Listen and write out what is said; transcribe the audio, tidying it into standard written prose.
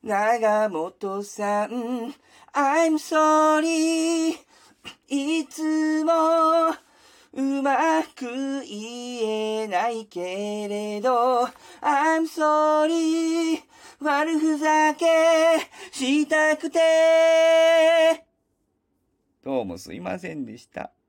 長本さん I'm sorry いつもうまく言えないけれど I'm sorry 悪ふざけしたくてどうもすいませんでした。